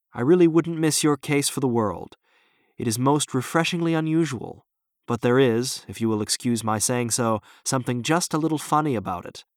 I really wouldn't miss your case for the world. It is most refreshingly unusual, but there is, if you will excuse my saying so, something just a little funny about it.